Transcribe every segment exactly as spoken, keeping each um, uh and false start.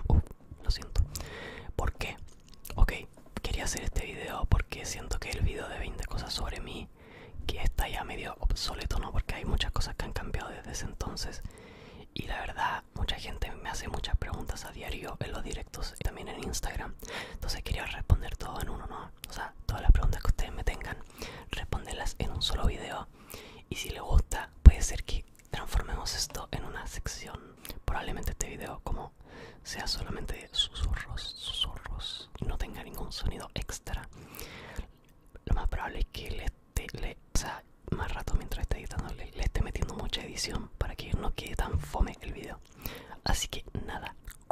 Uh, lo siento. ¿Por qué? Ok, quería hacer este video porque siento que el video de veinte cosas sobre mí, que está ya medio obsoleto, ¿no? Porque hay muchas cosas que han cambiado desde ese entonces. Y la verdad, mucha gente me hace muchas preguntas a diario en los directos y también en Instagram. Entonces quería responder todo en uno, ¿no? O sea, todas las preguntas que ustedes me tengan, responderlas en un solo video. Y si les gusta, puede ser que transformemos esto en una sección. Probablemente este video, como sea solamente susurros, susurros, y no tenga ningún sonido extra, lo más probable es que le esté, le, o sea, más rato mientras esté editando le, le esté metiendo mucha edición para que no quede tan fome el video. Así que nada,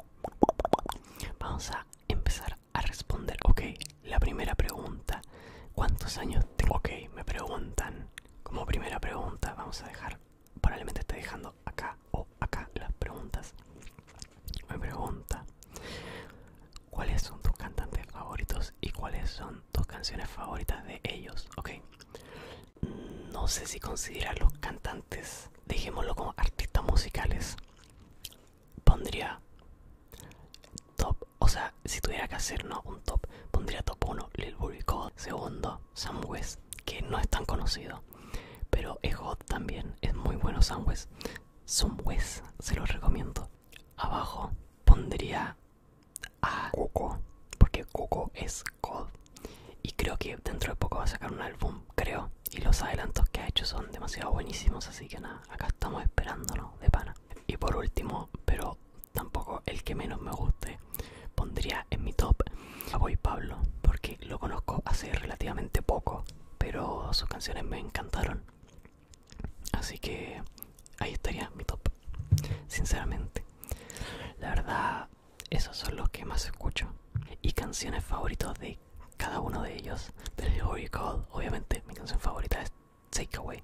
vamos a empezar a responder. Ok, la primera pregunta: ¿cuántos años tengo? Ok, me preguntan como primera pregunta. Vamos a dejar, probablemente esté dejando acá o acá las preguntas. Me pregunta: ¿cuáles son tus cantantes favoritos y cuáles son tus canciones favoritas de ellos? Ok, no sé si considerar los cantantes, dejémoslo como artistas musicales. Pondría top, o sea, si tuviera que hacer, no, un top, pondría top uno Lil Booty Gold, segundo Sam West, que no es tan conocido, pero es God también, es muy bueno Sam West. Sam West, se los recomiendo. Abajo pondría a Cuco, porque Cuco es God. Y creo que dentro de poco va a sacar un álbum, creo. Y los adelantos que ha hecho son demasiado buenísimos, así que nada, acá estamos esperándonos de pana. Y por último, pero tampoco el que menos me guste, pondría en mi top a Boy Pablo, porque lo conozco hace relativamente poco, pero sus canciones me encantaron. Así que ahí estaría mi top, sinceramente. La verdad, esos son los que más escucho. Y canciones favoritas de cada uno de ellos. Del Holy Call, obviamente mi canción favorita es Take Away.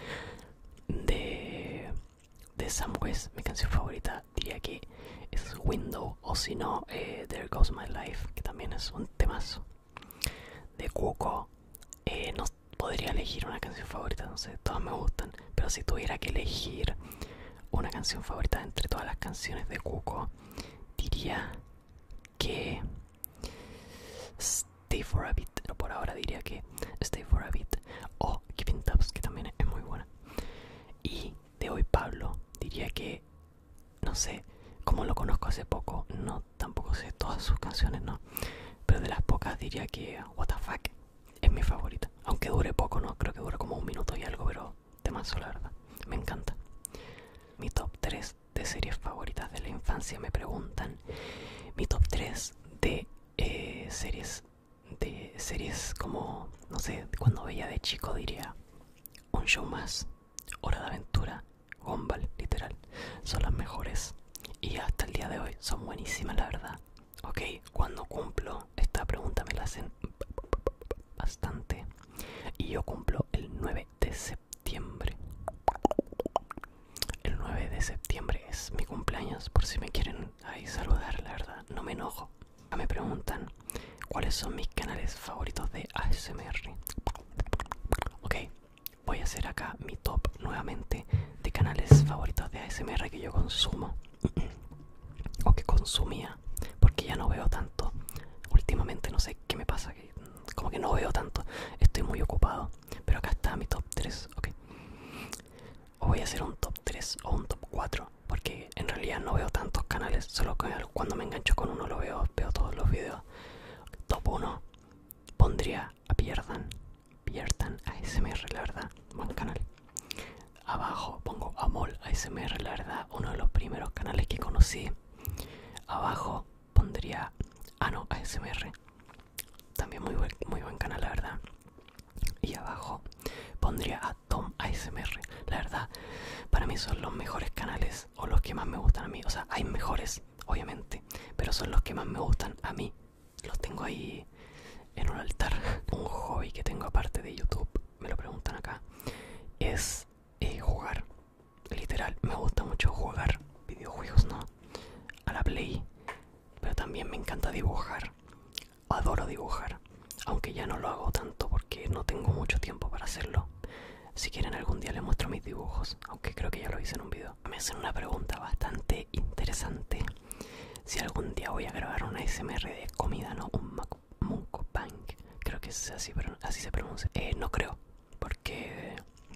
De, de Sam West, mi canción favorita diría que es Window, o si no, eh, There Goes My Life, que también es un temazo. De Cuco, eh, no podría elegir una canción favorita, no sé, todas me gustan, pero si tuviera que elegir una canción favorita entre todas las canciones de Cuco, diría que Stay for a Bit, pero por ahora diría que Stay for a Bit, o Keeping Tabs, que también es muy buena. Y de Hoy Pablo diría que, no sé, como lo conozco hace poco, no, tampoco sé todas sus canciones, no, pero de las pocas diría que What the Fuck es mi favorita, aunque dure poco, no, creo que dura como un minuto y algo, pero temazo, la verdad, me encanta. Mi top tres de series favoritas de la infancia, me preguntan. Mi top tres de eh, series, de series como, no sé, cuando veía de chico diría Un Show Más, Hora de Aventura, Gumball, literal, son las mejores y hasta el día de hoy son buenísimas, la verdad. Ok, cuando cumplo, esta pregunta me la hacen bastante, y yo cumplo el nueve de septiembre. El nueve de septiembre es mi cumpleaños, por si me quieren ahí saludar, la verdad, no me enojo. Me preguntan cuáles son mis canales favoritos de A S M R. Ok, voy a hacer acá mi top nuevamente de canales favoritos de A S M R que yo consumo o que consumía, porque ya no veo tanto últimamente, no sé qué me pasa, que como que no veo tanto, estoy muy ocupado. Pero acá está mi top tres, ok. O voy a hacer un top tres o un top cuatro, porque en realidad no veo tantos canales, solo que cuando me engancho con uno lo veo, veo todos los videos. Top uno, pondría a Pierdan, Pierdan A S M R, la verdad, buen canal. Abajo pongo a Mol A S M R, la verdad, uno de los primeros canales que conocí. Abajo pondría Ano A S M R, también muy buen, muy buen canal, la verdad. Y abajo pondría a Tom A S M R, la verdad, para mí son los mejores canales, o los que más me gustan a mí. O sea, hay mejores, obviamente, pero son los que más me gustan a mí. Los tengo ahí en un altar. Un hobby que tengo aparte de YouTube, me lo preguntan acá, es eh, jugar. Literal, me gusta mucho jugar videojuegos, ¿no? A la Play. Pero también me encanta dibujar. Adoro dibujar, aunque ya no lo hago tanto porque no tengo mucho tiempo para hacerlo. Si quieren algún día les muestro mis dibujos, aunque creo que ya lo hice en un video. Me hacen una pregunta bastante interesante. si algún día voy a grabar una A S M R de comida, ¿no? Un mukbang, creo que es así, pero así se pronuncia. Eh, no creo, porque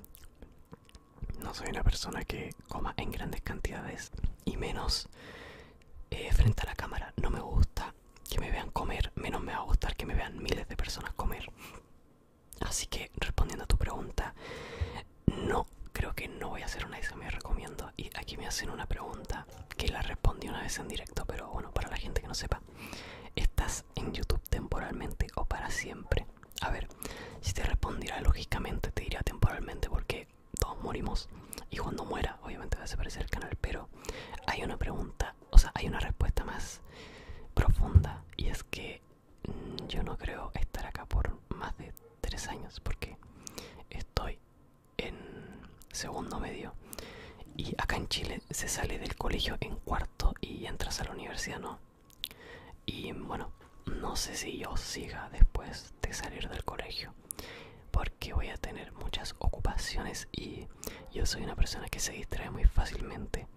no soy una persona que coma en grandes cantidades y menos eh, frente a la cámara. No me gusta que me vean comer, menos me va a gustar que me vean miles de personas comer. Así que respondiendo a tu pregunta, no, creo que no voy a hacer una A S M R comiendo. Y aquí me hacen una pregunta que la respondí una vez en directo, pero bueno, para la gente que no sepa, ¿estás en YouTube temporalmente o para siempre? A ver, si te respondiera lógicamente te diría temporalmente, porque todos morimos y cuando muera obviamente va a desaparecer el canal, pero hay una pregunta, o sea, hay una respuesta más profunda, y es que mmm, yo no creo estar acá por más de tres años, porque estoy en segundo medio y acá en Chile se sale del colegio en cuarto y entras a la universidad, ¿no? Y bueno, no sé si yo siga después de salir del colegio, porque voy a tener muchas ocupaciones y yo soy una persona que se distrae muy fácilmente.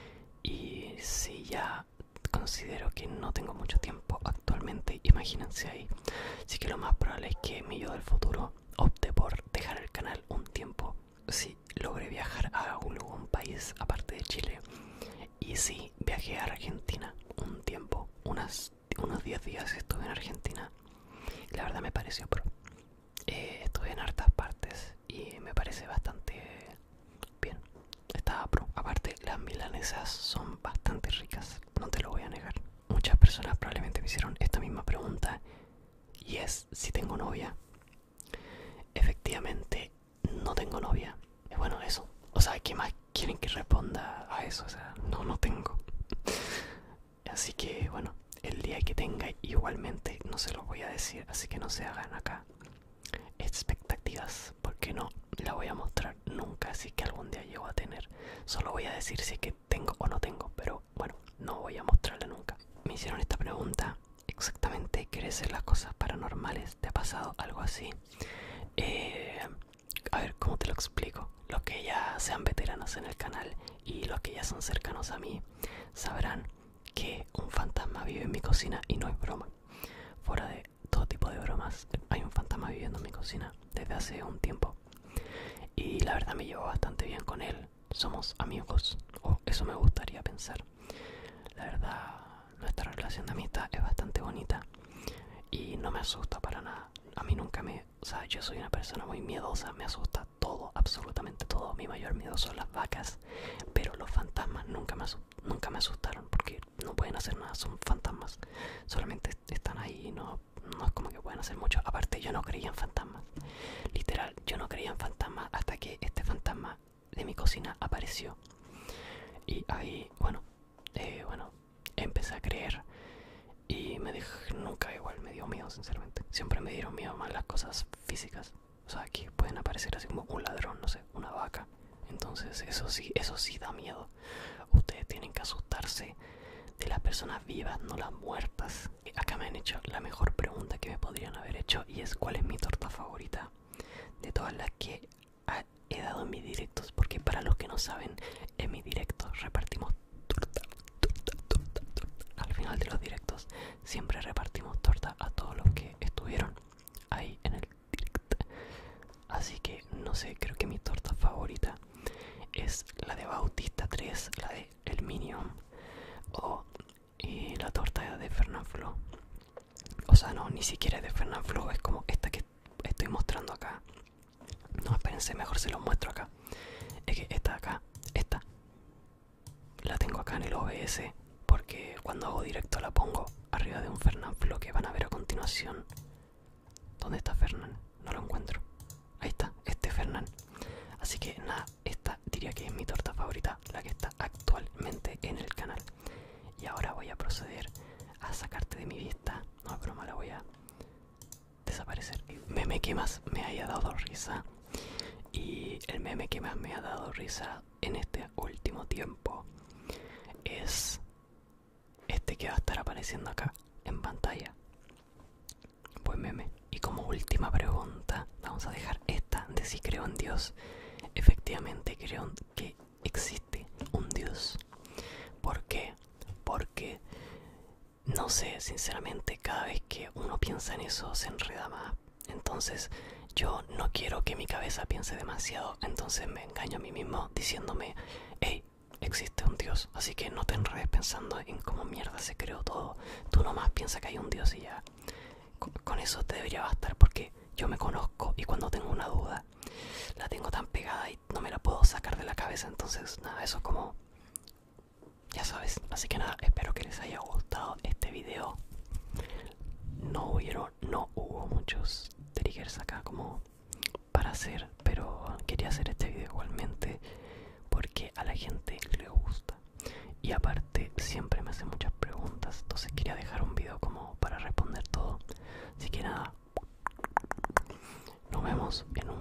Y si ya considero que no tengo mucho tiempo actualmente, imagínense ahí. Así que lo más probable es que mi yo del futuro opte por dejar el canal un tiempo. Si logré viajar a algún país aparte de Chile. Y sí, viajé a Argentina un tiempo, unas, unos diez días estuve en Argentina. La verdad me pareció pro. Eh, estuve en hartas partes y me parece bastante bien. Estaba pro. Aparte, las milanesas son bastante ricas, no te lo voy a negar. Muchas personas probablemente me hicieron esta misma pregunta, y es si tengo novia. Efectivamente, no tengo novia. Y bueno, eso. O sea, ¿qué más quieren que responda a eso? O sea, no, no tengo. Así que, bueno, el día que tenga igualmente no se los voy a decir, así que no se hagan acá expectativas, porque no la voy a mostrar nunca, así que algún día llego a tener. Solo voy a decir si es que tengo o no tengo, pero bueno, no voy a mostrarla nunca. Me hicieron esta pregunta exactamente: ¿quieres hacer las cosas paranormales? ¿Te ha pasado algo así? Eh, a ver, ¿cómo te lo explico? Los que ya sean veteranos en el canal y los que ya son cercanos a mí sabrán que un fantasma vive en mi cocina y no es broma. Fuera de todo tipo de bromas, hay un fantasma viviendo en mi cocina desde hace un tiempo. Y la verdad me llevo bastante bien con él. Somos amigos, o eso me gustaría pensar. La verdad, nuestra relación de amistad es bastante bonita y no me asusta para nada. A mí nunca me... O sea, yo soy una persona muy miedosa, me asusta todo, absolutamente todo. Mi mayor miedo son las vacas, pero los fantasmas nunca me, nunca me asustaron, porque no pueden hacer nada, son fantasmas. Solamente están ahí y no, no es como que pueden hacer mucho. Aparte, yo no creía en fantasmas. Literal, yo no creía en fantasmas hasta que este fantasma de mi cocina apareció. Y ahí, bueno, eh, bueno, empecé a creer. Y me dejé, nunca igual me dio miedo, sinceramente. Siempre me dieron miedo más las cosas físicas. O sea, que pueden aparecer así como un ladrón, no sé, una vaca. Entonces eso sí, eso sí da miedo. Ustedes tienen que asustarse de las personas vivas, no las muertas. Acá me han hecho la mejor pregunta que me podrían haber hecho, y es: ¿cuál es mi torta favorita de todas las que he dado en mis directos? Porque para los que no saben, en mis directos repartimos torta, torta, torta, torta. Al final de los directos siempre repartimos torta a todos los que estuvieron ahí en el directo. Así que no sé, creo que mi torta favorita es la de Bautista tres, la de El Minion, o y la torta de Fernanfloo. O sea, no, ni siquiera es de Fernanfloo, es como esta que estoy mostrando acá. No, espérense, mejor se los muestro acá. Es que esta de acá, esta, la tengo acá en el O B S, porque cuando hago directo la pongo arriba de un Fernanfloo que van a ver a continuación. ¿Dónde está Fernán? No lo encuentro. Ahí está, este Fernán. Así que nada, esta diría que es mi torta favorita, la que está actualmente en el canal. Y ahora voy a proceder a sacarte de mi vista. No es broma, la voy a desaparecer. Meme que más me haya dado risa. Y el meme que más me ha dado risa en este último tiempo es este que va a estar apareciendo acá en pantalla. Buen meme. Y como última pregunta, vamos a dejar esta de si creo en Dios. Efectivamente creo que existe un Dios. ¿Por qué? Porque no sé, sinceramente, cada vez que uno piensa en eso se enreda más. Entonces yo no quiero que mi cabeza piense demasiado, entonces me engaño a mí mismo diciéndome, hey, existe un Dios, así que no te enredes pensando en cómo mierda se creó todo. Tú nomás piensa que hay un Dios y ya. Con, con eso te debería bastar, porque yo me conozco y cuando tengo una duda la tengo tan pegada y no me la puedo sacar de la cabeza. Entonces nada, eso es como, ya sabes. Así que nada, espero que les haya gustado este video. No hubieron, no hubo muchos triggers acá como para hacer, pero quería hacer este video igualmente porque a la gente le gusta. Y aparte siempre me hacen muchas preguntas, entonces quería dejar un video como para responder todo. Así que nada, nos vemos en